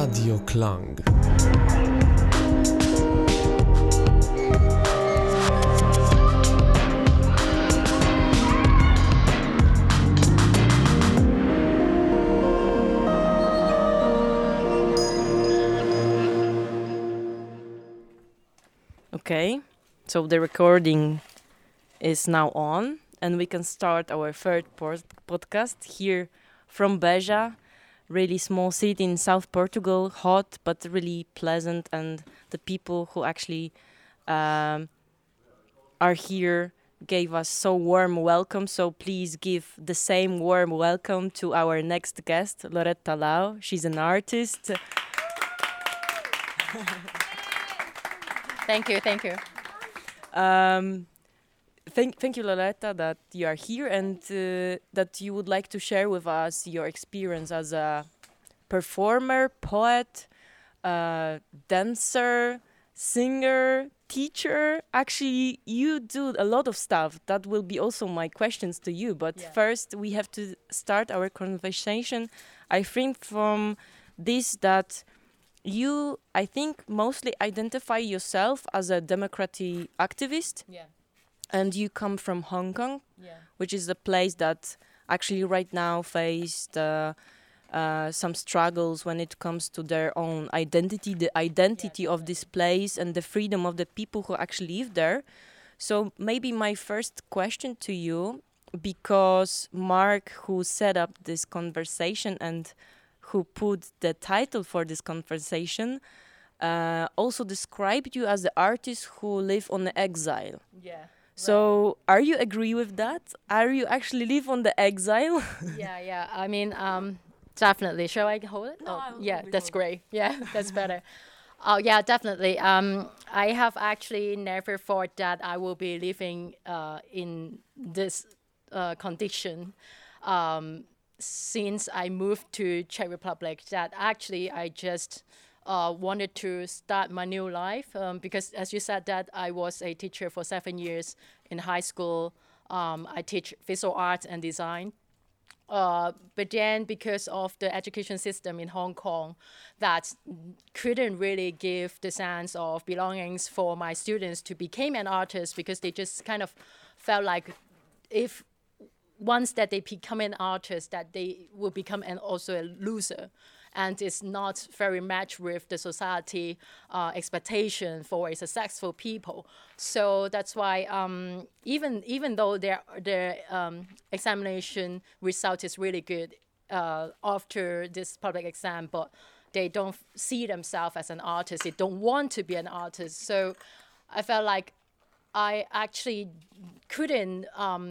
Radio Klang. Okay, so the recording is now on, and we can start our third podcast here from Beja, really small city in South Portugal, hot but really pleasant, and the people who actually are here gave us so warm welcome. So please give the same warm welcome to our next guest, Loretta Lau. She's an artist. Thank you. Thank you, Loretta, that you are here and that you would like to share with us your experience as a performer, poet, dancer, singer, teacher. Actually, you do a lot of stuff. That will be also my questions to you. But first, we have to start our conversation, I think, from this that you, I think, mostly identify yourself as a democratic activist. Yeah. And you come from Hong Kong, which is a place that actually right now faced some struggles when it comes to their own identity, the identity of this place and the freedom of the people who actually live there. So maybe my first question to you, because Mark, who set up this conversation and who put the title for this conversation, also described you as the artist who live on the exile. Yeah. So, are you agree with that? Are you actually live on the exile? Yeah. I mean, definitely. Shall I hold it? No, that's great. Yeah, that's better. Oh, yeah, definitely. I have actually never thought that I will be living in this condition since I moved to Czech Republic. That actually I just wanted to start my new life because, as you said, that I was a teacher for 7 years in high school. I teach visual arts and design. But then because of the education system in Hong Kong that couldn't really give the sense of belongings for my students to become an artist, because they just kind of felt like if once that they become an artist, that they will become also a loser. And it's not very matched with the society expectation for a successful people. So that's why even though their examination result is really good after this public exam, but they don't see themselves as an artist. They don't want to be an artist. So I felt like I actually couldn't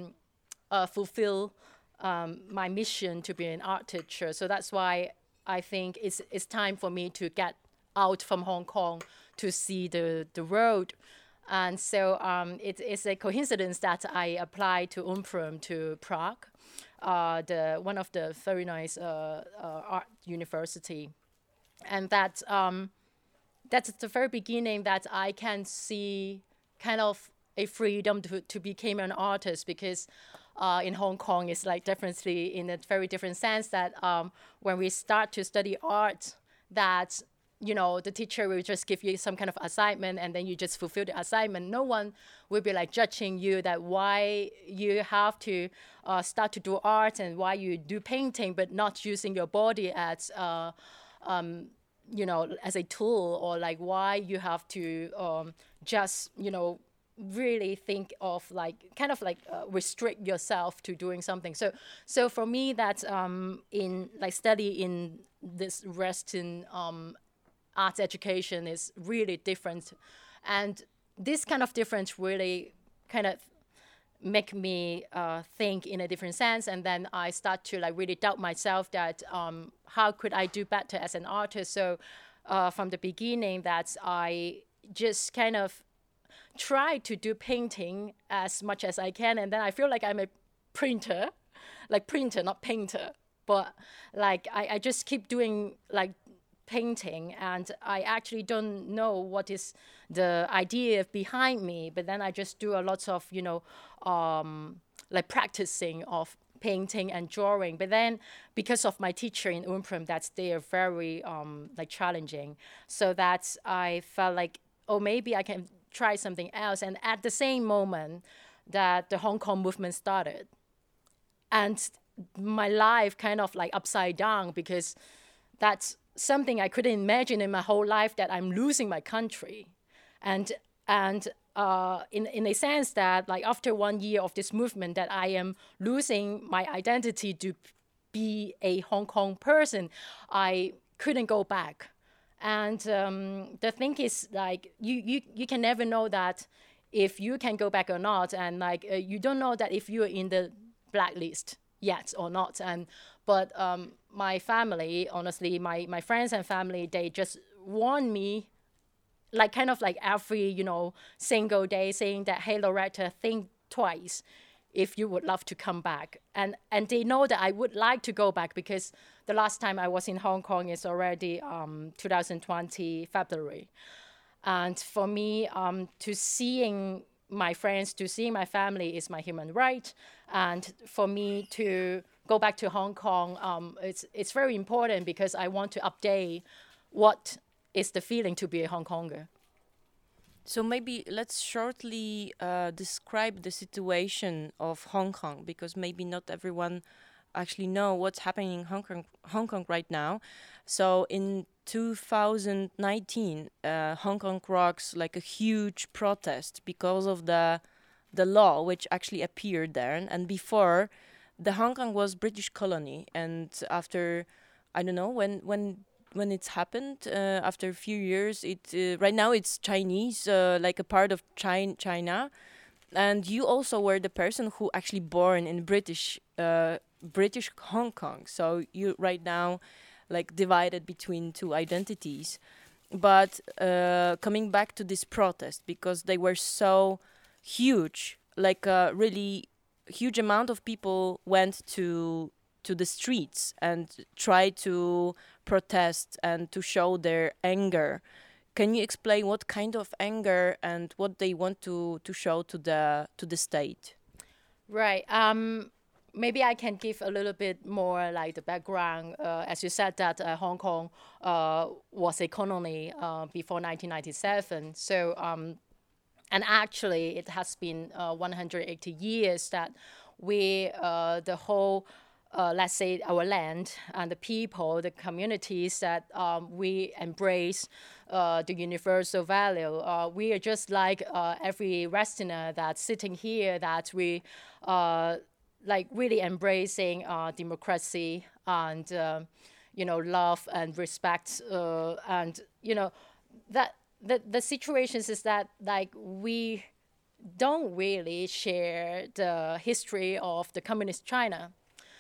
fulfill my mission to be an art teacher. So that's why I think it's time for me to get out from Hong Kong to see the world. And so it's a coincidence that I applied to UMPRUM to Prague, one of the very nice art university. And that's the very beginning that I can see kind of a freedom to become an artist, because in Hong Kong, it's like definitely in a very different sense that when we start to study art, that, you know, the teacher will just give you some kind of assignment and then you just fulfill the assignment. No one will be like judging you that why you have to start to do art and why you do painting, but not using your body as, you know, as a tool, or like why you have to just, you know, really think of like kind of like restrict yourself to doing something. So for me, that in like study in this Western arts education is really different, and this kind of difference really kind of make me think in a different sense. And then I start to like really doubt myself that how could I do better as an artist. So from the beginning, that I just kind of try to do painting as much as I can, and then I feel like I'm a printer, not painter, but like I just keep doing like painting, and I actually don't know what is the idea behind me, but then I just do a lot of, you know, like practicing of painting and drawing. But then because of my teacher in UNPRIM, that they are very like challenging. So that I felt like, oh, maybe I can try something else. And at the same moment that the Hong Kong movement started, and my life kind of like upside down, because that's something I couldn't imagine in my whole life, that I'm losing my country. And in a sense that like after 1 year of this movement, that I am losing my identity to be a Hong Kong person, I couldn't go back. And the thing is, like, you can never know that if you can go back or not. And like you don't know that if you're in the blacklist yet or not. But my family, honestly, my friends and family, they just warn me, like kind of like every, single day, saying that, hey, Loretta, think twice if you would love to come back. And they know that I would like to go back, because the last time I was in Hong Kong is already 2020 February. And for me, to seeing my friends, to seeing my family is my human right. And for me to go back to Hong Kong, it's very important, because I want to update what is the feeling to be a Hong Konger. So maybe let's shortly describe the situation of Hong Kong, because maybe not everyone actually know what's happening in Hong Kong right now. So in 2019, Hong Kong rocks like a huge protest because of the law which actually appeared there. And before, the Hong Kong was British colony, and after, I don't know when it's happened, after a few years, right now it's Chinese, like a part of China. And you also were the person who actually born in British Hong Kong. So you right now like divided between two identities. But coming back to this protest, because they were so huge, like a really huge amount of people went to the streets and tried to protest and to show their anger. Can you explain what kind of anger and what they want to show to the state? Right. Maybe I can give a little bit more like the background. As you said that Hong Kong was a colony before 1997. So and actually it has been 180 years that we the whole let's say our land and the people, the communities, that we embrace the universal value. We are just like every Westerner that's sitting here, that we like really embracing democracy and love and respect, and that the situations is that like we don't really share the history of the communist China.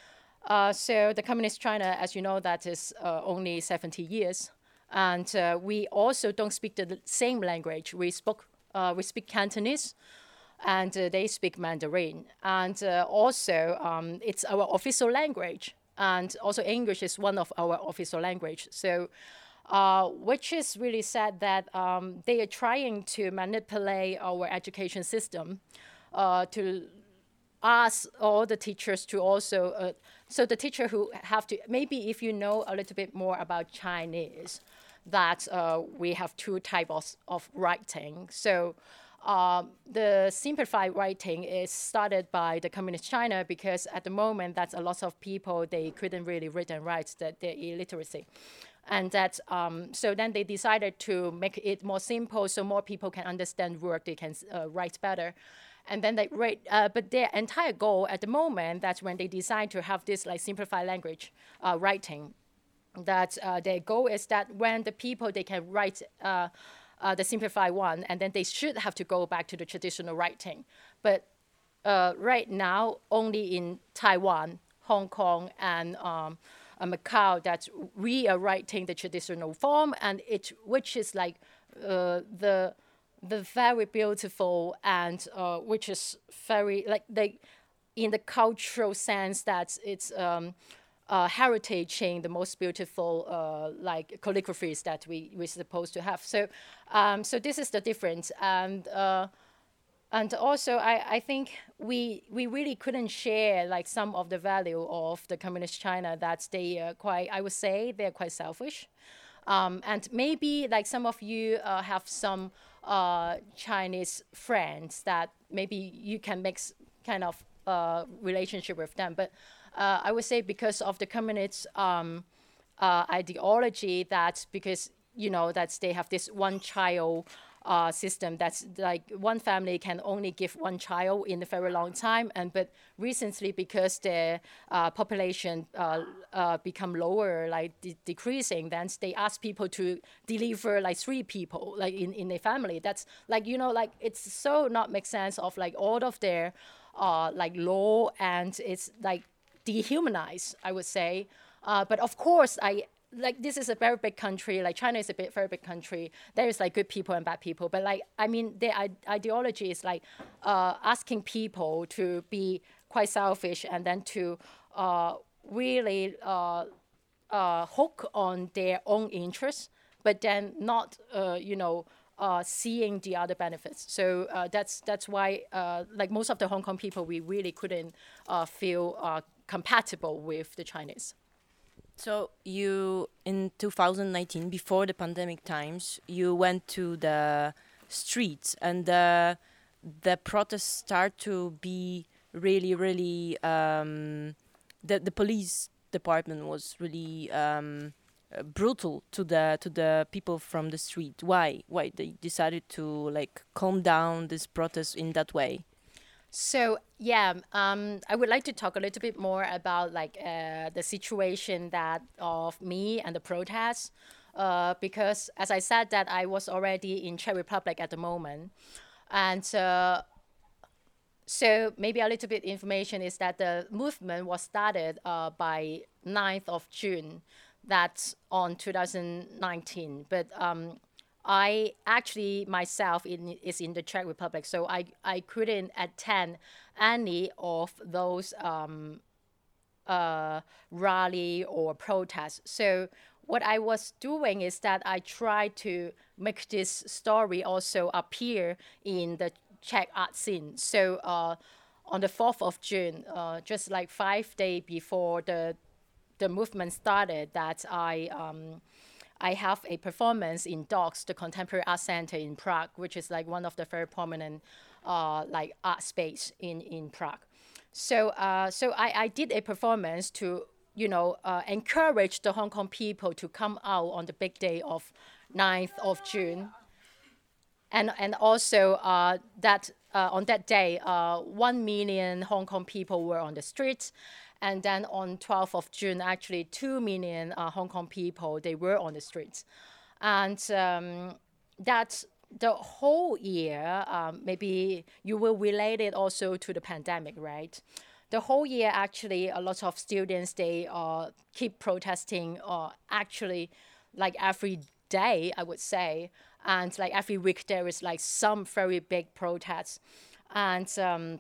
So the communist China, as you know, that is only 70 years. And we also don't speak the same language. We speak Cantonese, and they speak Mandarin. And also, it's our official language. And also English is one of our official language. So, which is really sad that they are trying to manipulate our education system to ask all the teachers to also, so the teacher who have to, maybe if you know a little bit more about Chinese, that we have two types of writing. So the simplified writing is started by the communist China, because at the moment that's a lot of people, they couldn't really read and write, that they're illiteracy. And that, so then they decided to make it more simple so more people can understand word, they can write better. And then they write, but their entire goal at the moment, that's when they decide to have this like simplified language writing, that their goal is that when the people, they can write the simplified one, and then they should have to go back to the traditional writing. But right now, only in Taiwan, Hong Kong, and Macau, that we are writing the traditional form, and which is like the very beautiful, and which is very like in the cultural sense that it's heritage in the most beautiful like calligraphies that we're supposed to have. So so this is the difference. And And also, I think we really couldn't share like some of the value of the communist China, that they are quite, I would say, they're quite selfish. And maybe like some of you have some Chinese friends that maybe you can make kind of relationship with them. But I would say because of the communist ideology, that because that they have this one child system, that's like one family can only give one child in a very long time, and but recently because the population become lower, like decreasing, then they ask people to deliver like 3 people like in a family. That's like like it's so not make sense of like all of their like law, and it's like dehumanized, I would say. But of course, like this is a very big country. Like China is a very big country. There is like good people and bad people. But like I mean, their ideology is like asking people to be quite selfish, and then to really hook on their own interests, but then not seeing the other benefits. So that's why like most of the Hong Kong people, we really couldn't feel compatible with the Chinese. So you, in 2019, before the pandemic times, you went to the streets, and the protests start to be really, really. The police department was really brutal to the people from the street. Why? Why they decided to like calm down this protest in that way? So yeah, I would like to talk a little bit more about like the situation that of me and the protests, because as I said that I was already in Czech Republic at the moment, and so maybe a little bit information is that the movement was started by 9th of June, that's on 2019, but I actually myself is in the Czech Republic, so I couldn't attend any of those rally or protests. So what I was doing is that I tried to make this story also appear in the Czech art scene. So on the 4th of June, just like 5 days before the movement started, that I have a performance in DOCS, the Contemporary Art Center in Prague, which is like one of the very prominent like art space in Prague. So I did a performance to encourage the Hong Kong people to come out on the big day of 9th of June. And also that on that day, 1 million Hong Kong people were on the streets. And then on 12th of June, actually 2 million Hong Kong people, they were on the streets. And that the whole year, maybe you will relate it also to the pandemic, right? The whole year, actually, a lot of students, they keep protesting actually like every day, I would say. And like every week, there is like some very big protests. And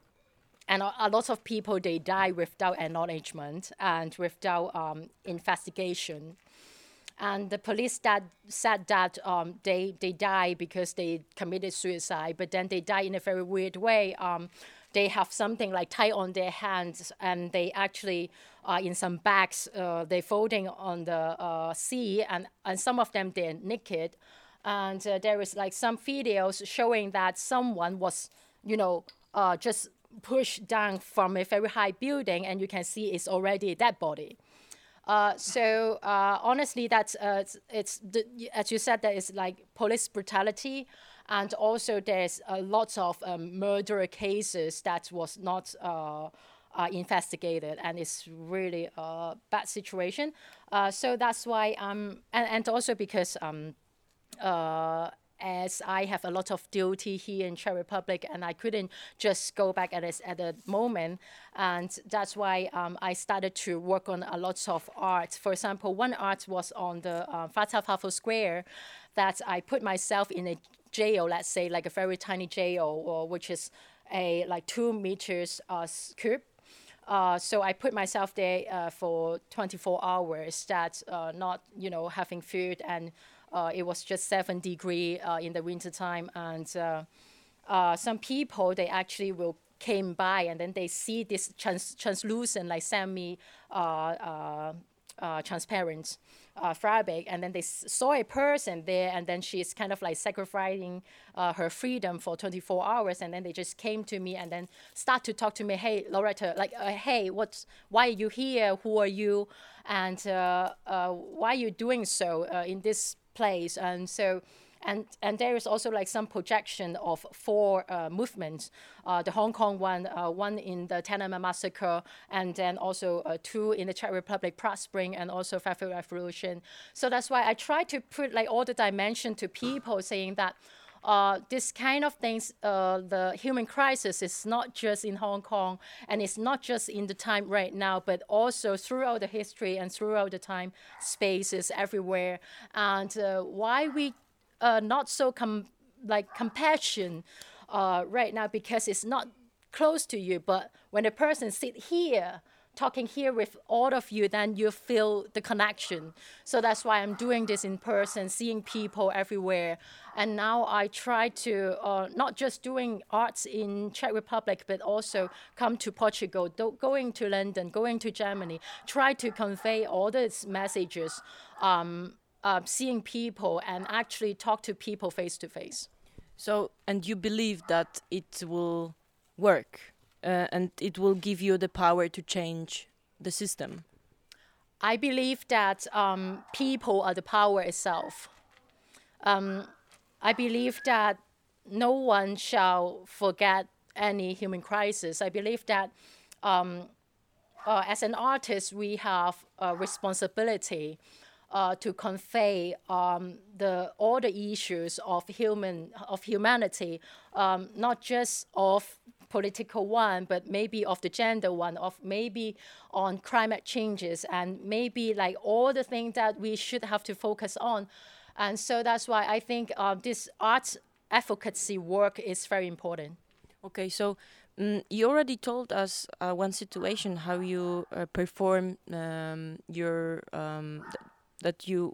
a lot of people, they die without acknowledgement and without investigation. And the police that said that they die because they committed suicide, but then they die in a very weird way. They have something like tied on their hands, and they actually in some bags, they're floating on the sea, and some of them, they're naked. And there is like some videos showing that someone was, just pushed down from a very high building, and you can see it's already a dead body. So honestly, that's as you said, that is like police brutality, and also there's lots of murder cases that was not investigated, and it's really a bad situation. So that's why and also because as I have a lot of duty here in Czech Republic, and I couldn't just go back at the moment. And that's why I started to work on a lot of art. For example, one art was on the Václav Square, that I put myself in a jail, let's say like a very tiny jail, which is a like 2 meters cube. So I put myself there for 24 hours, that's not, having food, and it was just 7 degrees in the wintertime, and some people, they actually will came by and then they see this translucent, like semi transparent fabric, and then they saw a person there, and then she's kind of like sacrificing her freedom for 24 hours, and then they just came to me and then start to talk to me. Hey, Loretta, like, hey, why are you here? Who are you? And why are you doing so in this place? And so. And there is also like some projection of 4 movements, the Hong Kong one, one in the Tiananmen Massacre, and then also 2 in the Czech Republic, Prague Spring, and also February Revolution. So that's why I try to put like all the dimension to people, saying that this kind of things, the human crisis is not just in Hong Kong, and it's not just in the time right now, but also throughout the history and throughout the time spaces everywhere. And why we not so compassion right now, because it's not close to you. But when a person sit here, talking here with all of you, then you feel the connection. So that's why I'm doing this in person, seeing people everywhere. And now I try to not just doing arts in Czech Republic, but also come to Portugal, going to London, going to Germany, try to convey all these messages. Seeing people and actually talk to people face to face. So, and you believe that it will work and it will give you the power to change the system? I believe that people are the power itself. I believe that no one shall forget any human crisis. I believe that as an artist, we have a responsibility to convey all the issues of humanity, not just of political one, but maybe of the gender one, of maybe on climate changes, and maybe like all the things that we should have to focus on. And so that's why I think this art advocacy work is very important. Okay, so you already told us one situation how you perform your that you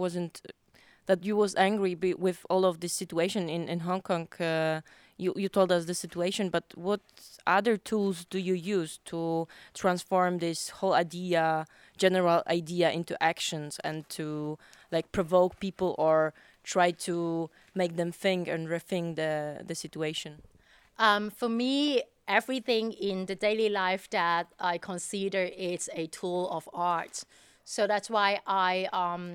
was angry with all of this situation in Hong Kong. You told us the situation, but what other tools do you use to transform this whole general idea into actions, and to like provoke people or try to make them think and rethink the situation? For me, everything in the daily life that I consider is a tool of art. So that's why I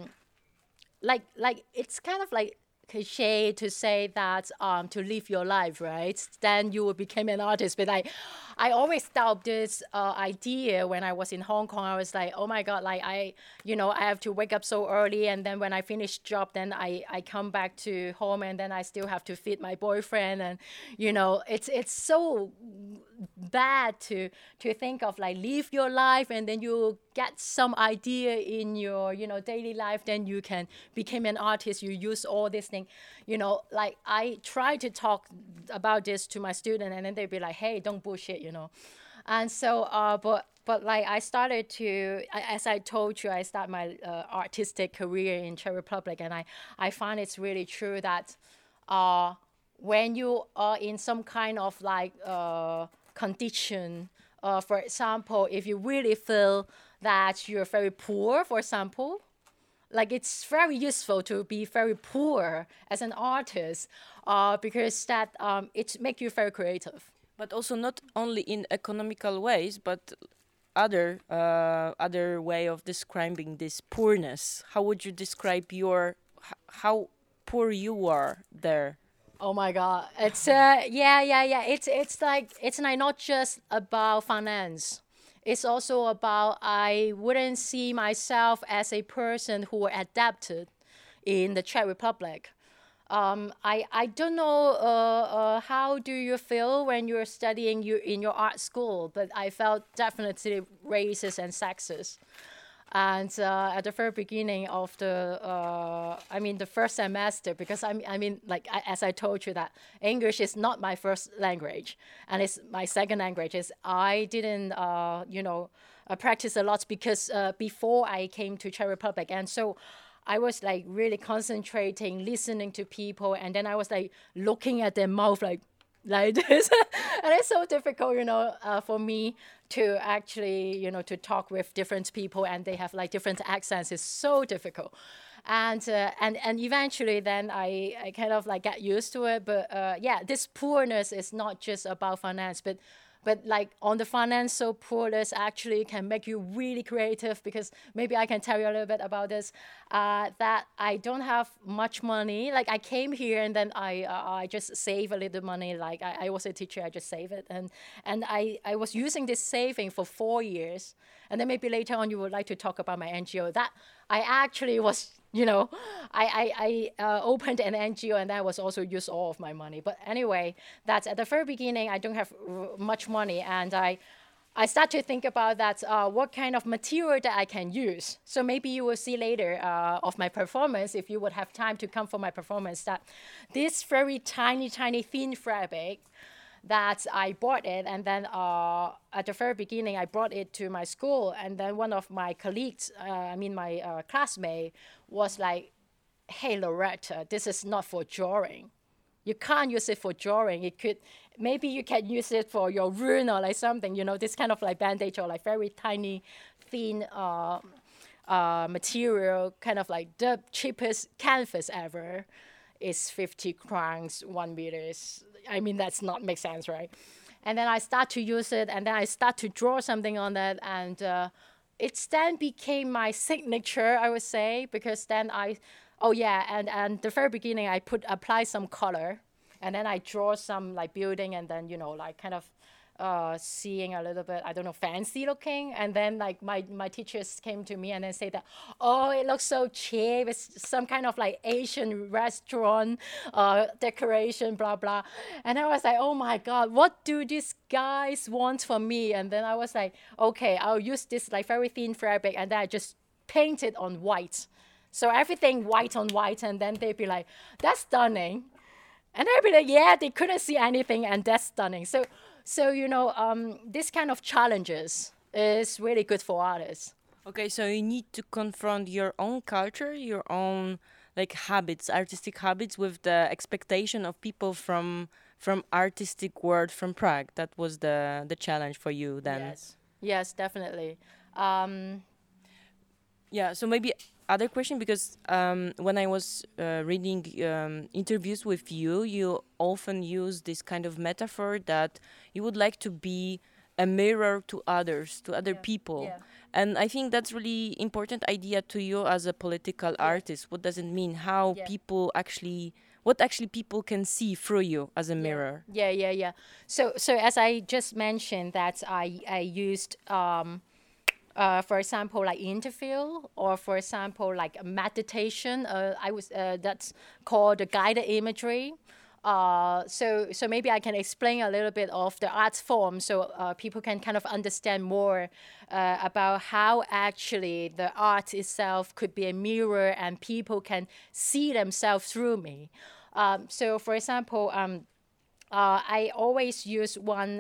like it's kind of like cliche to say that to live your life, right? Then you will become an artist. But I always doubt this idea when I was in Hong Kong. I was like, oh my God, like I have to wake up so early, and then when I finish job, then I come back to home, and then I still have to feed my boyfriend, and it's so bad to think of like live your life, and then you get some idea in your daily life, then you can become an artist. You use all these things, like I try to talk about this to my student, and then they'd be like, hey, don't bullshit, and so but like I started to, as I told you, I started my artistic career in Czech Republic, and I find it's really true that when you are in some kind of like condition, for example, if you really feel that you're very poor, for example, like it's very useful to be very poor as an artist, because that it makes you very creative. But also not only in economical ways, but other way of describing this poorness. How would you describe how poor you are there? Oh my God! It's yeah. It's like not just about finance. It's also about I wouldn't see myself as a person who adapted in the Czech Republic. I don't know how do you feel when you're studying in your art school, but I felt definitely racist and sexist. And at the very beginning of the first semester, because as I told you that English is not my first language, and it's my second language. I didn't, practice a lot because before I came to Czech Republic, and so I was like really concentrating, listening to people, and then I was like looking at their mouth like, like this. And it's so difficult, for me to actually, to talk with different people, and they have like different accents. It's so difficult. And eventually then I kind of like get used to it. But yeah, this poorness is not just about finance, but like on the financial poorness actually can make you really creative, because maybe I can tell you a little bit about this, that I don't have much money. Like I came here and then I just save a little money. Like I was a teacher, I just save it. And I was using this saving for 4 years. And then maybe later on you would like to talk about my NGO. That I actually was, I opened an NGO, and that was also used all of my money. But anyway, that's at the very beginning, I don't have much money. And I start to think about that, what kind of material that I can use. So maybe you will see later of my performance, if you would have time to come for my performance, that this very tiny, tiny thin fabric, that I bought it, and then at the very beginning, I brought it to my school, and then one of my colleagues, my classmate, was like, "Hey, Loretta, this is not for drawing. You can't use it for drawing. Maybe you can use it for your wound or like something, this kind of like bandage or like very tiny, thin material, kind of like the cheapest canvas ever is 50 crowns, 1 meter. That's not make sense, right?" And then I start to use it, and then I start to draw something on that, and it then became my signature, I would say, because then and the very beginning I apply some color, and then I draw some like building, and then like kind of seeing a little bit, I don't know, fancy looking. And then like my teachers came to me and then say that, "Oh, it looks so cheap. It's some kind of like Asian restaurant decoration, blah, blah." And I was like, "Oh my God, what do these guys want from me?" And then I was like, "Okay, I'll use this like very thin fabric," and then I just paint it on white. So everything white on white, and then they'd be like, "That's stunning." And I'd be like, "Yeah," they couldn't see anything, and that's stunning. So this kind of challenges is really good for artists. Okay, so you need to confront your own culture, your own like habits, artistic habits, with the expectation of people from artistic world from Prague. That was the challenge for you then. Yes, definitely. Yeah, so maybe other question, because when I was reading interviews with you, you often use this kind of metaphor that you would like to be a mirror to others, to other people. Yeah. And I think that's really important idea to you as a political artist. What does it mean? How people actually, what actually people can see through you as a mirror? Yeah. So as I just mentioned, that I used for example, like interview, or for example, like meditation. That's called the guided imagery. So maybe I can explain a little bit of the art form, so people can kind of understand more about how actually the art itself could be a mirror, and people can see themselves through me. So for example, I always use one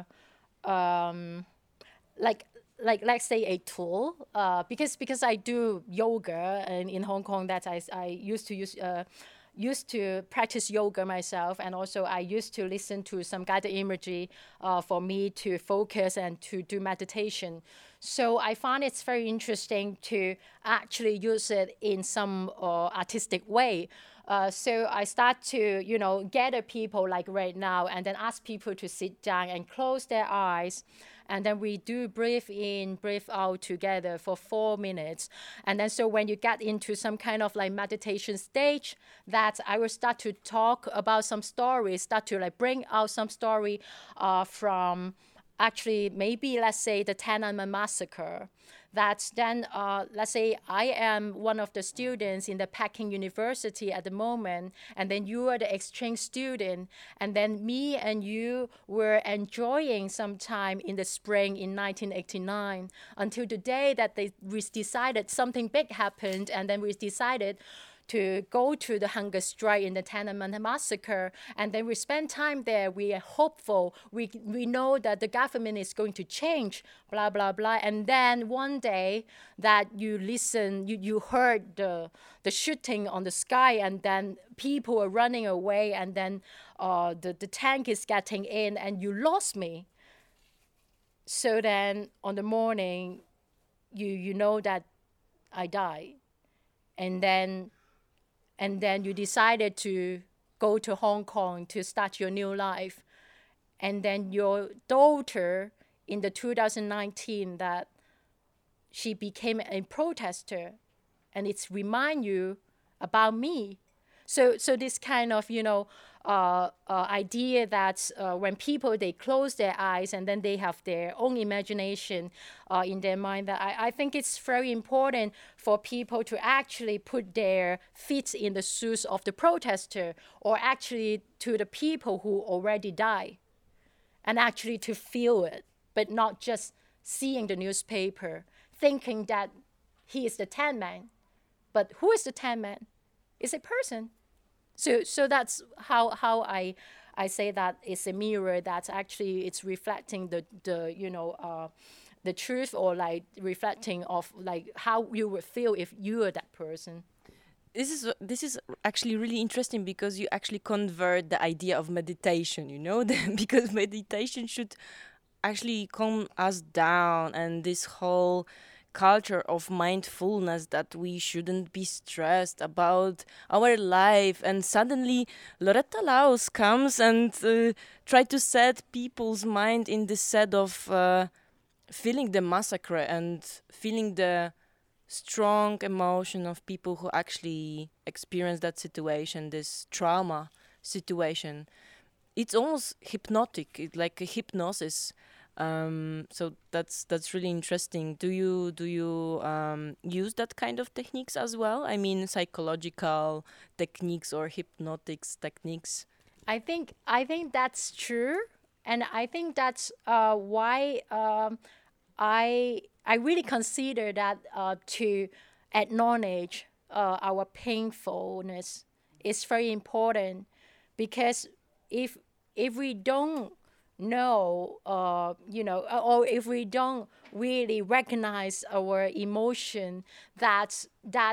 like let's say a tool, because I do yoga, and in Hong Kong that I used to practice yoga myself, and also I used to listen to some guided imagery for me to focus and to do meditation. So I find it's very interesting to actually use it in some artistic way. So I start to, gather people like right now, and then ask people to sit down and close their eyes. And then we do breathe in, breathe out together for 4 minutes. And then so when you get into some kind of like meditation stage, that I will start to talk about some stories, start to like bring out some story from actually maybe, let's say, the Tiananmen massacre. That then, let's say I am one of the students in the Peking University at the moment, and then you are the exchange student, and then me and you were enjoying some time in the spring in 1989 until the day that we decided something big happened, and then we decided to go to the hunger strike in the Tiananmen massacre, and then we spend time there. We are hopeful. We know that the government is going to change, blah blah blah. And then one day that you listen, you heard the shooting on the sky, and then people are running away, and then the tank is getting in, and you lost me. So then on the morning, you know that I died. And then you decided to go to Hong Kong to start your new life. And then your daughter in the 2019 that she became a protester, and it's remind you about me. So this kind of, idea that when people, they close their eyes and then they have their own imagination in their mind, that I think it's very important for people to actually put their feet in the shoes of the protester, or actually to the people who already died, and actually to feel it, but not just seeing the newspaper, thinking that he is the Tin Man. But who is the Tin Man? It's a person. So that's how I say that it's a mirror, that actually it's reflecting the truth, or like reflecting of like how you would feel if you were that person. This is actually really interesting, because you actually convert the idea of meditation, because meditation should actually calm us down, and this whole culture of mindfulness, that we shouldn't be stressed about our life. And suddenly Loretta Laus comes and try to set people's mind in the set of feeling the massacre and feeling the strong emotion of people who actually experience that situation, this trauma situation. It's almost hypnotic. It's like a hypnosis. So that's really interesting. Do you use that kind of techniques as well? I mean, psychological techniques or hypnotics techniques? I think that's true, and I think that's why I really consider that to acknowledge our painfulness is very important, because if we don't know, or if we don't really recognize our emotion, that's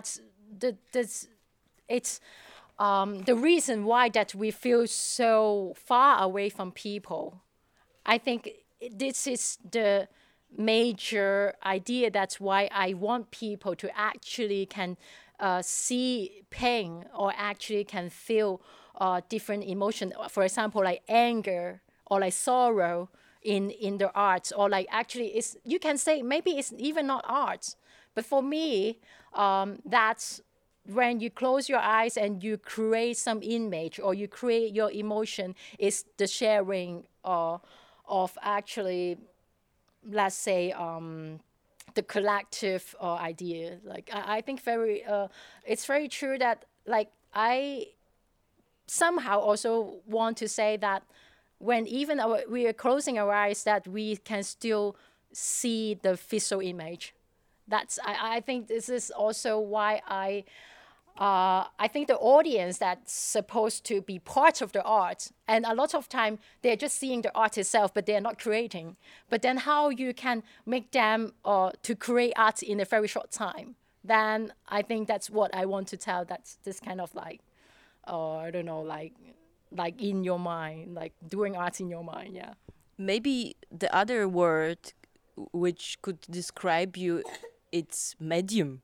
it's the reason why that we feel so far away from people. I think this is the major idea. That's why I want people to actually can see pain, or actually can feel different emotion. For example, like anger or like sorrow in the arts, or like actually it's, you can say maybe it's even not arts, but for me, that's when you close your eyes and you create some image, or you create your emotion, is the sharing of actually, let's say, the collective idea. Like I think it's very true that, like, I somehow also want to say that when even we are closing our eyes, that we can still see the visual image. I think this is also why I think the audience that's supposed to be part of the art, and a lot of time they're just seeing the art itself, but they're not creating. But then how you can make them to create art in a very short time, then I think that's what I want to tell. That's this kind of like, I don't know, like in your mind, like doing art in your mind, yeah. Maybe the other word which could describe you, it's medium.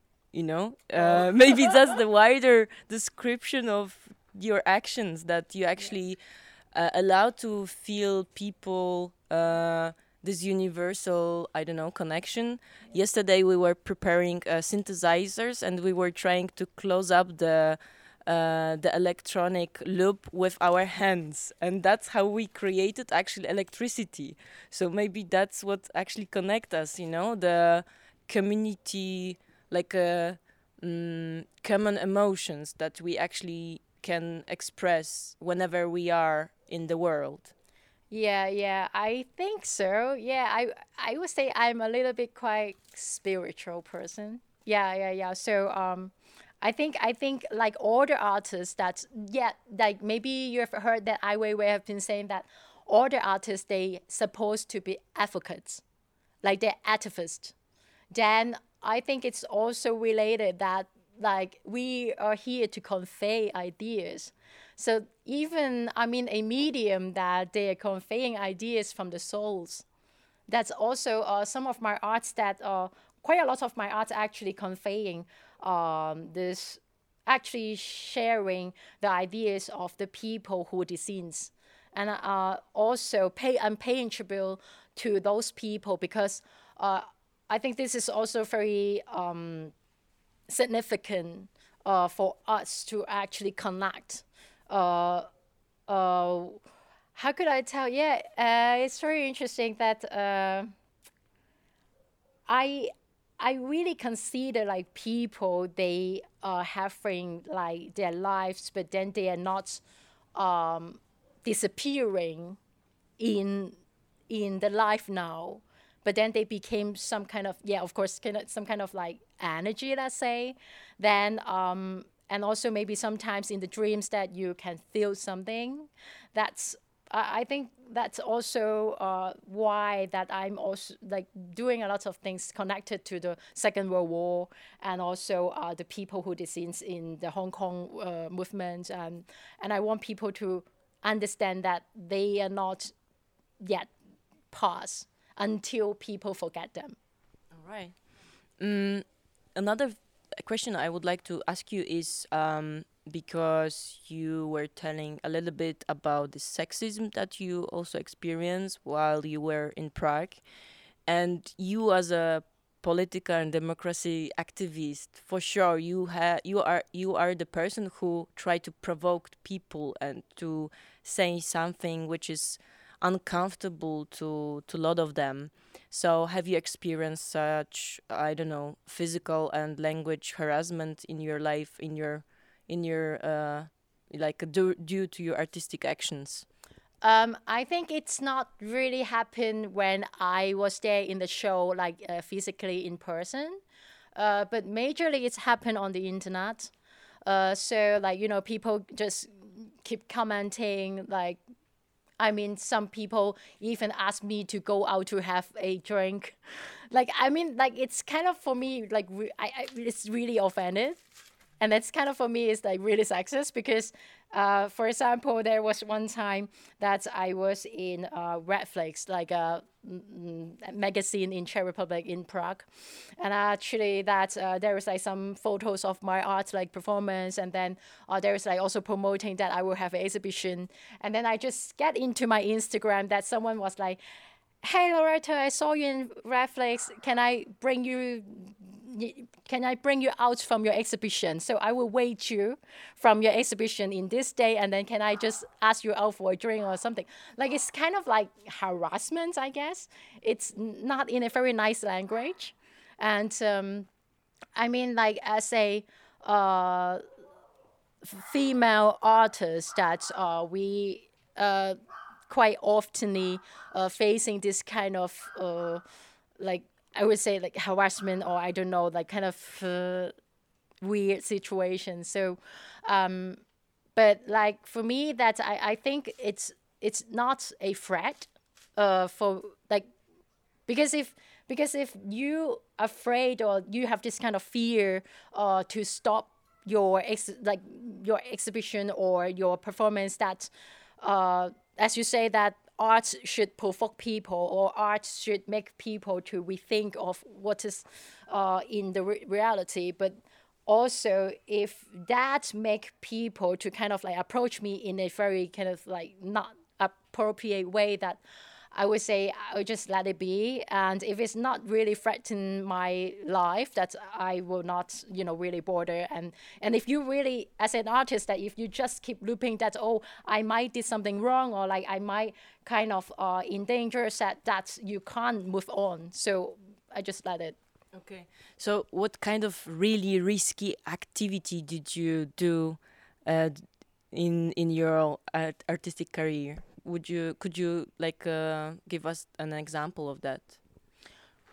Maybe that's the wider description of your actions, that you actually allow to feel people this universal, I don't know, connection. Yesterday we were preparing synthesizers, and we were trying to close up the electronic loop with our hands, and that's how we created actually electricity. So maybe that's what actually connect us, the community, like common emotions that we actually can express whenever we are in the world. Yeah, I think so. Yeah, I would say I'm a little bit quite spiritual person. Yeah. So I think like all the artists that, yeah, like maybe you have heard that Ai Weiwei have been saying that all the artists, they supposed to be advocates, like they're activists. Then I think it's also related that like we are here to convey ideas. So even, I mean, a medium that they are conveying ideas from the souls. That's also some of my arts that quite a lot of my arts actually conveying this, actually sharing the ideas of the people who deceased, and also I'm paying tribute to those people because I think this is also very significant for us to actually connect. Uh, uh, how could I tell? Yeah, it's very interesting that I I really consider like people, they are having like their lives, but then they are not disappearing in the life now, but then they became some kind of, yeah, of course, kind of some kind of like energy, let's say. Then and also maybe sometimes in the dreams that you can feel something. That's I think that's also why that I'm also like doing a lot of things connected to the Second World War, and also the people who deceased in the Hong Kong movement, and I want people to understand that they are not yet past until people forget them. All right. Another question I would like to ask you is because you were telling a little bit about the sexism that you also experienced while you were in Prague, and you as a political and democracy activist, for sure, you are the person who try to provoke people and to say something which is uncomfortable to a lot of them. So have you experienced such, I don't know, physical and language harassment in your life, in your like due to your artistic actions? I think it's not really happened when I was there in the show, like physically in person, but majorly it's happened on the internet. So like, you know, people just keep commenting, like, I mean, some people even ask me to go out to have a drink. Like, I mean, like, it's kind of for me, like, it's really offended. And that's kind of for me is like really sexist because, for example, there was one time that I was in Redflix, like a magazine in Czech Republic in Prague, and actually that there was like some photos of my art like performance, and then there was like also promoting that I will have an exhibition, and then I just get into my Instagram that someone was like, "Hey Loretta, I saw you in Redflix. Can I bring you out from your exhibition? So I will wait you from your exhibition in this day, and then can I just ask you out for a drink or something?" Like it's kind of like harassment, I guess. It's not in a very nice language, and I mean, like as a female artist that we quite oftenly facing this kind of like I would say like harassment, or I don't know, like kind of weird situation. So, but like for me, that I think it's not a threat for like because if you afraid or you have this kind of fear to stop your your exhibition or your performance, that as you say that art should provoke people or art should make people to rethink of what is in the reality, but also if that make people to kind of like approach me in a very kind of like not appropriate way, that I would say I would just let it be. And if it's not really threatening my life, that I will not, you know, really bother. And if you really, as an artist, that if you just keep looping that, oh, I might did something wrong, or like I might kind of in danger, that you can't move on. So I just let it. Okay. So what kind of really risky activity did you do uh, in your artistic career? Could you like give us an example of that?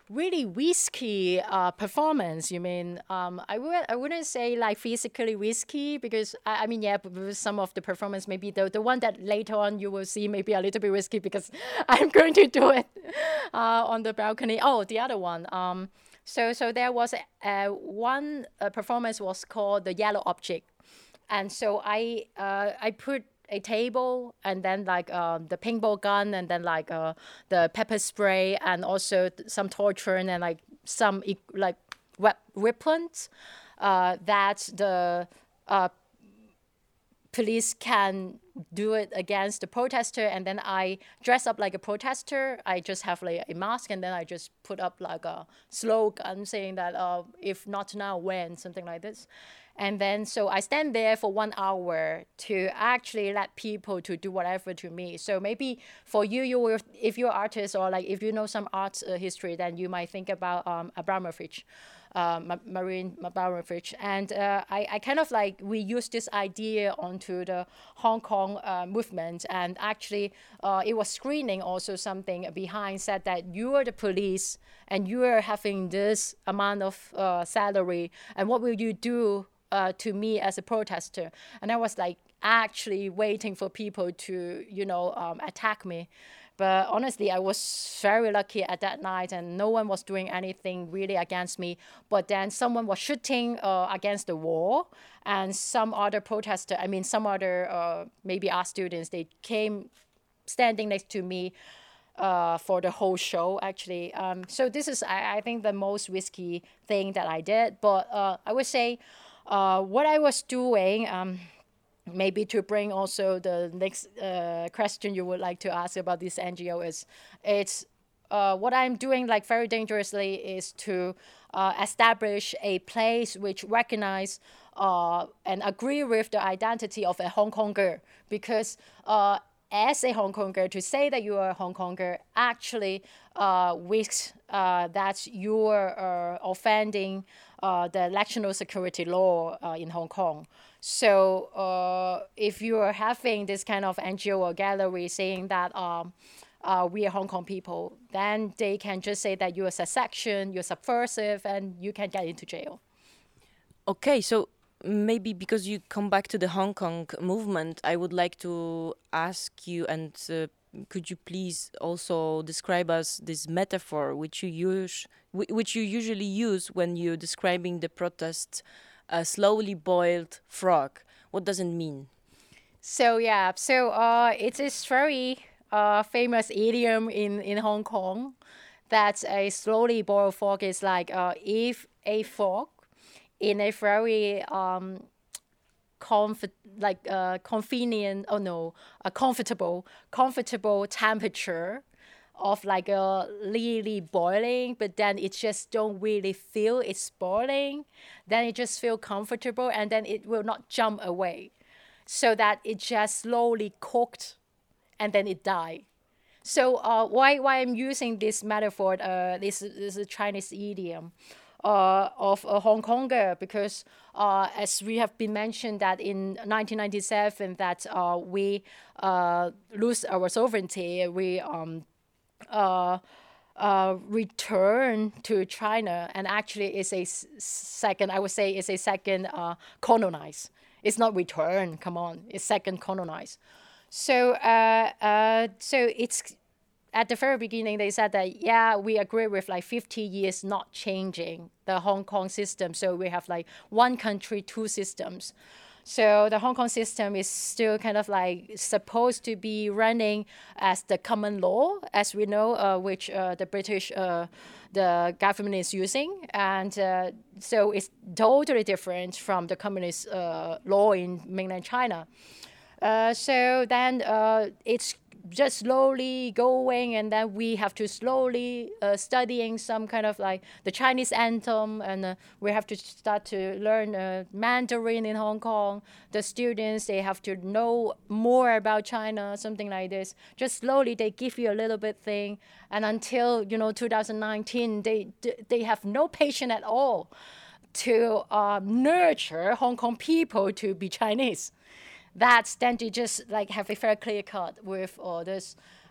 really risky performance. You mean I wouldn't say like physically risky because I mean yeah, some of the performance maybe the one that later on you will see maybe a little bit risky because I'm going to do it on the balcony. Oh, the other one. So there was one performance was called the Yellow Object, and so I put a table and then like the paintball gun and then like the pepper spray and also some torture and like some like weapons that the police can do it against the protester, and then I dress up like a protester. I just have like a mask, and then I just put up like a slogan saying that if not now, when, something like this. And then so I stand there for 1 hour to actually let people to do whatever to me. So maybe for you will, if you're an artist or like if you know some art history, then you might think about Abramovich. Marine Abramovich, and I kind of like we use this idea onto the Hong Kong movement, and actually it was screening also something behind said that you are the police and you are having this amount of salary, and what will you do to me as a protester? And I was like actually waiting for people to attack me. But honestly, I was very lucky at that night, and no one was doing anything really against me. But then someone was shooting against the wall, and some other protester, some other maybe art students, they came standing next to me for the whole show, actually. So this is, I think, the most risky thing that I did. But I would say what I was doing... maybe to bring also the next question you would like to ask about this NGO is, it's what I'm doing like very dangerously is to establish a place which recognize and agree with the identity of a Hong Konger, because as a Hong Konger, to say that you are a Hong Konger actually risks that you are offending the national security law in Hong Kong. So if you are having this kind of NGO or gallery saying that we are Hong Kong people, then they can just say that you're a secession, you're subversive, and you can get into jail. Okay, so maybe because you come back to the Hong Kong movement, I would like to ask you, and could you please also describe us this metaphor which you usually use when you're describing the protest, a slowly boiled frog. What does it mean? So yeah, it is very famous idiom in Hong Kong that a slowly boiled frog is like if a frog in a very comfortable temperature of like a really boiling, but then it just don't really feel it's boiling, then it just feel comfortable, and then it will not jump away, so that it just slowly cooked and then it died. So why I'm using this metaphor, this is a Chinese idiom of a Hong Konger, because as we have been mentioned that in 1997 that we lose our sovereignty, we return to China, and actually it's a second, I would say it's a second colonize. It's not return, come on, it's second colonize. So so it's at the very beginning they said that yeah, we agree with like 50 years not changing the Hong Kong system, so we have like one country, two systems. So the Hong Kong system is still kind of like supposed to be running as the common law, as we know, which the British, the government is using. And so it's totally different from the communist law in mainland China. So then it's just slowly going, and then we have to slowly studying some kind of like the Chinese anthem, and we have to start to learn Mandarin in Hong Kong. The students, they have to know more about China, something like this. Just slowly they give you a little bit thing, and until 2019 they have no patience at all to nurture Hong Kong people to be Chinese. That's then they just like have a very clear cut with all this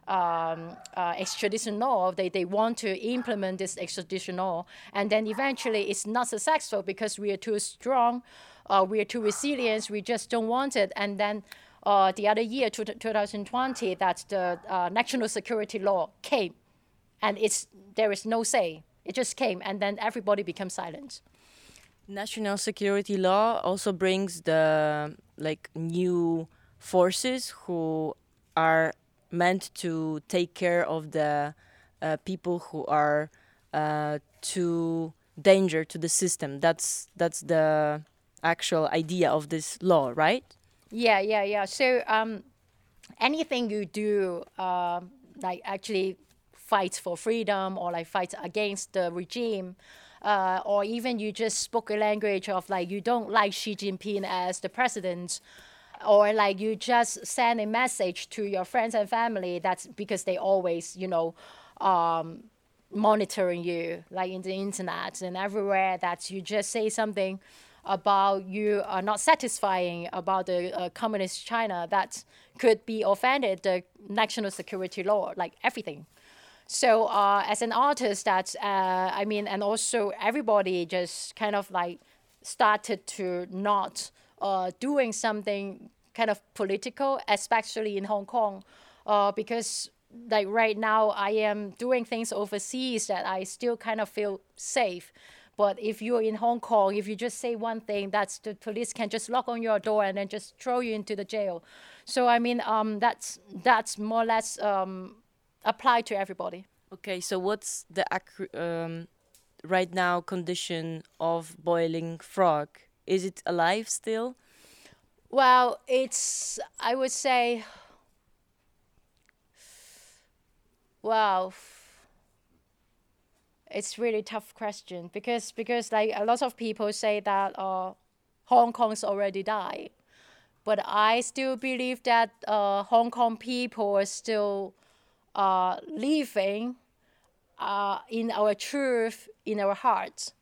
extradition law. They want to implement this extradition law, and then eventually it's not successful because we are too strong, we are too resilient, we just don't want it. And then the other year, 2020, that the national security law came, and there is no say. It just came, and then everybody becomes silent. National security law also brings the new forces who are meant to take care of the people who are too danger to the system. That's the actual idea of this law, right? Yeah. So anything you do, actually fight for freedom or fight against the regime, or even you just spoke a language of you don't like Xi Jinping as the president, or you just send a message to your friends and family, that's because they always, monitoring you, in the internet and everywhere, that you just say something about you are not satisfying about the communist China, that could be offended the national security law, everything. So as an artist, and also everybody just kind of started to not doing something kind of political, especially in Hong Kong, because right now I am doing things overseas that I still kind of feel safe. But if you're in Hong Kong, if you just say one thing, the police can just knock on your door and then just throw you into the jail. So that's more or less applied to everybody. Okay, so what's the right now condition of Boiling Frog? Is it alive still? Well, I would say, wow, it's really tough question because a lot of people say that Hong Kong's already died, but I still believe that Hong Kong people are still living in our truth, in our hearts.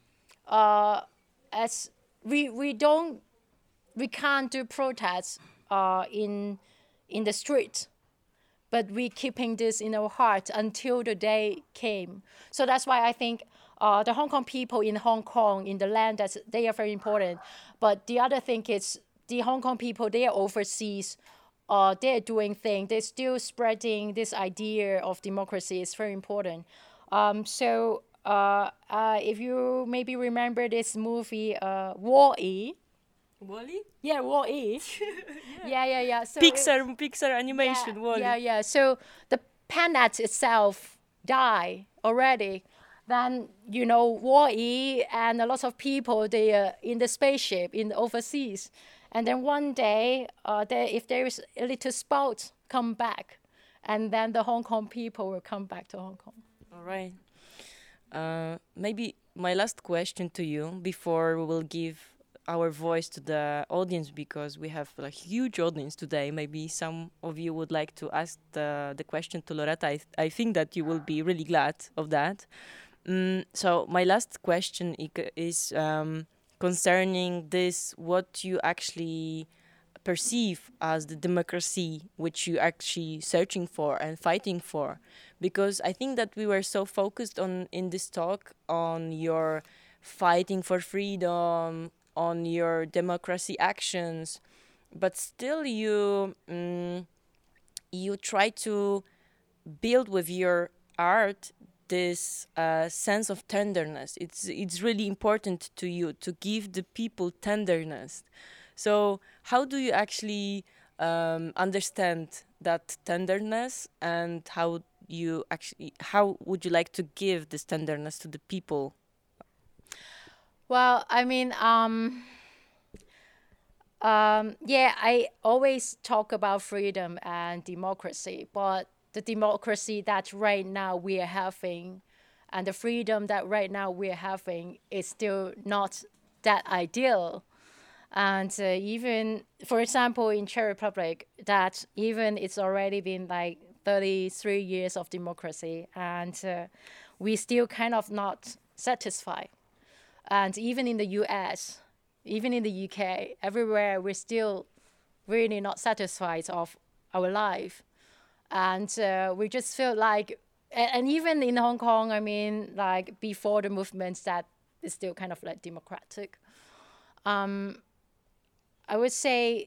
As we can't do protests in the street, but we keeping this in our heart until the day came. So that's why I think the Hong Kong people in Hong Kong, in the land, they are very important. But the other thing is the Hong Kong people, they are overseas. They're doing things. They're still spreading this idea of democracy. It's very important. So if you maybe remember this movie, Wall-E. Wall-E? Yeah, Wall-E. Yeah. So Pixar animation, Wall-E. Yeah. So the planet itself died already. Then, Wall-E and a lot of people, they are in the spaceship in overseas. And then one day, if there is a little spark, come back. And then the Hong Kong people will come back to Hong Kong. All right. Maybe my last question to you before we will give our voice to the audience, because we have a huge audience today. Maybe some of you would like to ask the question to Loretta. I think that you will be really glad of that. So my last question is concerning this, what you actually perceive as the democracy which you actually searching for and fighting for. Because I think that we were so focused in this talk on your fighting for freedom, on your democracy actions, but still you try to build with your art this sense of tenderness. It's really important to you to give the people tenderness. So how do you actually understand that tenderness, and how would you like to give this tenderness to the people? Well, I always talk about freedom and democracy, but the democracy that right now we are having and the freedom that right now we are having is still not that ideal. And even, for example, in Czech Republic, that even it's already been 33 years of democracy, and we still kind of not satisfied. And even in the US, even in the UK, everywhere we're still really not satisfied of our life. And we just feel like, and even in Hong Kong, I mean, like before the movements that is still kind of like democratic. I would say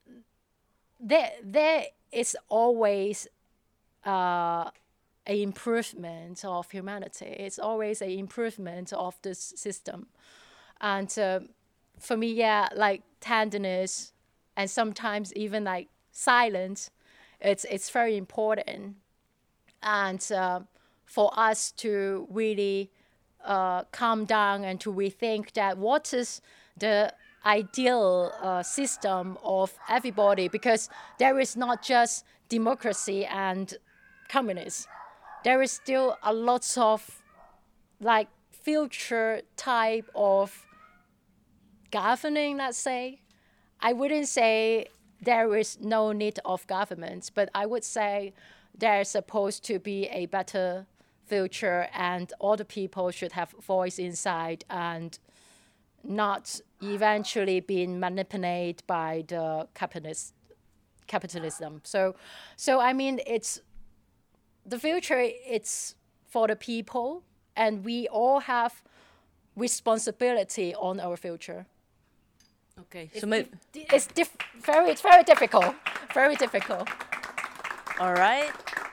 there is always an improvement of humanity. It's always an improvement of this system. And for me, yeah, like tenderness and sometimes even like silence, it's very important. And for us to really calm down and to rethink that what is the ideal system of everybody, because there is not just democracy and communism. There is still a lot of like future type of governing, let's say. I wouldn't say there is no need of governments, but I would say there's supposed to be a better future and all the people should have voice inside and not eventually being manipulated by the capitalism. So I mean, it's the future. It's for the people, and we all have responsibility on our future. Okay, It's, so it's very difficult. Very difficult. all right.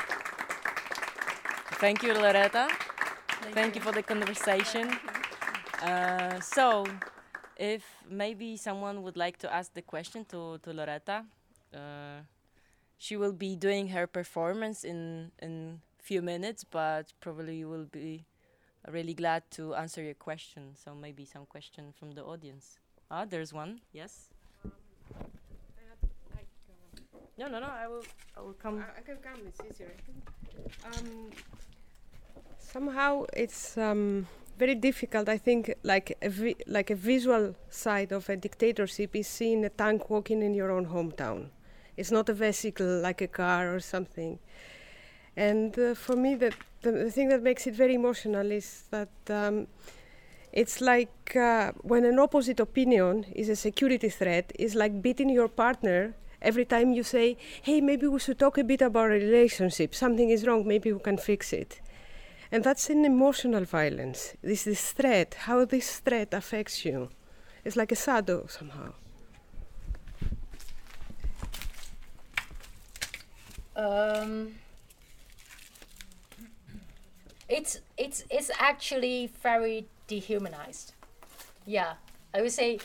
Thank you, Loretta. Thank you for the conversation. So, if maybe someone would like to ask the question to Loretta, she will be doing her performance in few minutes, but probably will be really glad to answer your question. So maybe some question from the audience. Ah, there's one. Yes. No. I will come. I can come. It's easier. Somehow it's very difficult. I think like a visual side of a dictatorship is seeing a tank walking in your own hometown. It's not a vehicle like a car or something. And for me, the thing that makes it very emotional is that it's like when an opposite opinion is a security threat, it's like beating your partner every time you say, hey, maybe we should talk a bit about a relationship. Something is wrong, maybe we can fix it. And that's an emotional violence. This threat, how this threat affects you. It's like a shadow somehow. It's actually very dehumanized. Yeah, I would say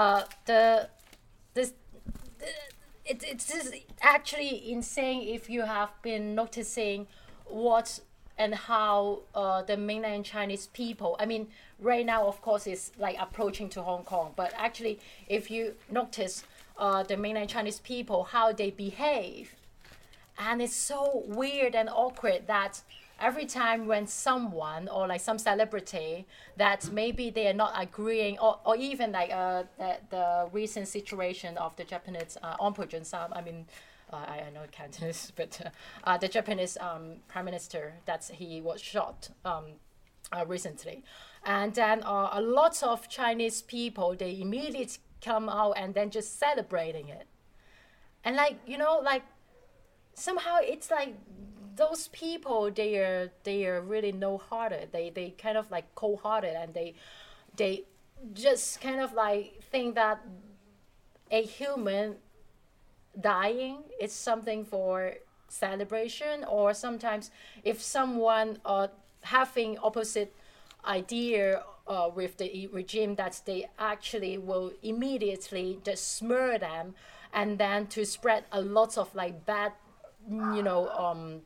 it's actually insane if you have been noticing what and how the mainland Chinese people, I mean, right now, of course, it's like approaching to Hong Kong, but actually, if you notice the mainland Chinese people, how they behave, and it's so weird and awkward that every time when someone or like some celebrity that maybe they are not agreeing, or even like the recent situation of the Japanese Aung San, I mean, I know Cantonese, but the Japanese prime minister, that he was shot recently. And then a lot of Chinese people, they immediately come out and then just celebrating it. And like, you know, like somehow it's like those people, they are really no-hearted. They kind of like cold-hearted, and they just kind of like think that a human dying is something for celebration, or sometimes if someone having opposite idea with the regime, that they actually will immediately just smear them, and then to spread a lot of like bad, you know,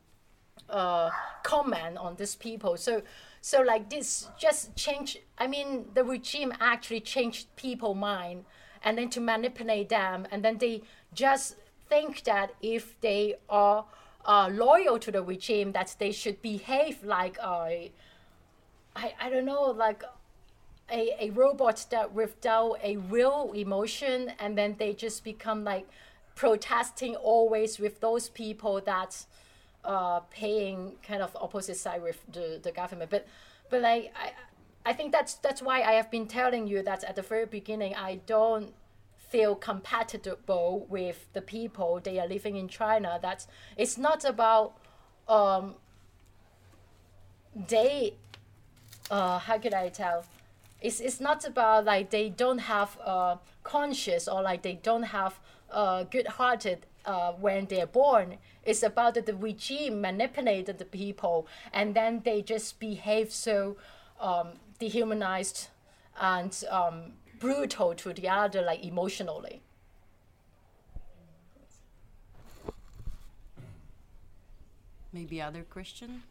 comment on these people. So like this just changed. I mean, the regime actually changed people's mind, and then to manipulate them, and then they just think that if they are loyal to the regime, that they should behave like I don't know, like a robot that without a real emotion, and then they just become like protesting always with those people that paying kind of opposite side with the government. But like I think that's why I have been telling you that at the very beginning, I don't feel compatible with the people they are living in China. That it's not about how could I tell? It's not about like they don't have conscious or like they don't have good-hearted when they're born. It's about that the regime manipulated the people and then they just behave so dehumanized and brutal to the other, like emotionally. Maybe other question?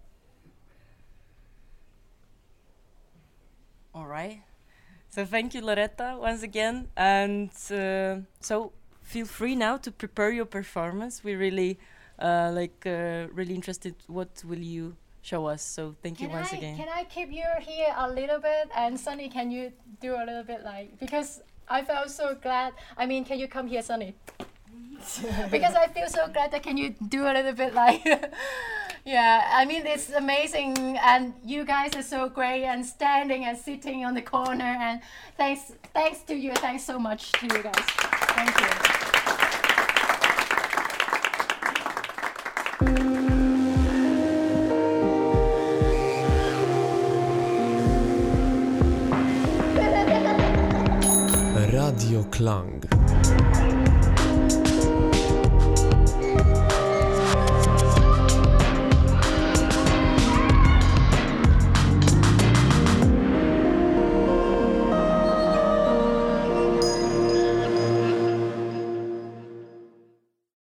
All right. So thank you, Loretta, once again. And so feel free now to prepare your performance. We're really, really interested. What will you show us? So thank you once again. Can I keep you here a little bit? And Sunny, can you do a little bit like, because I felt so glad. I mean, can you come here, Sunny? Because I feel so glad that can you do a little bit like, yeah, I mean, it's amazing. And you guys are so great and standing and sitting on the corner. And thanks to you. Thanks so much to you guys. Thank you. Radio Klang.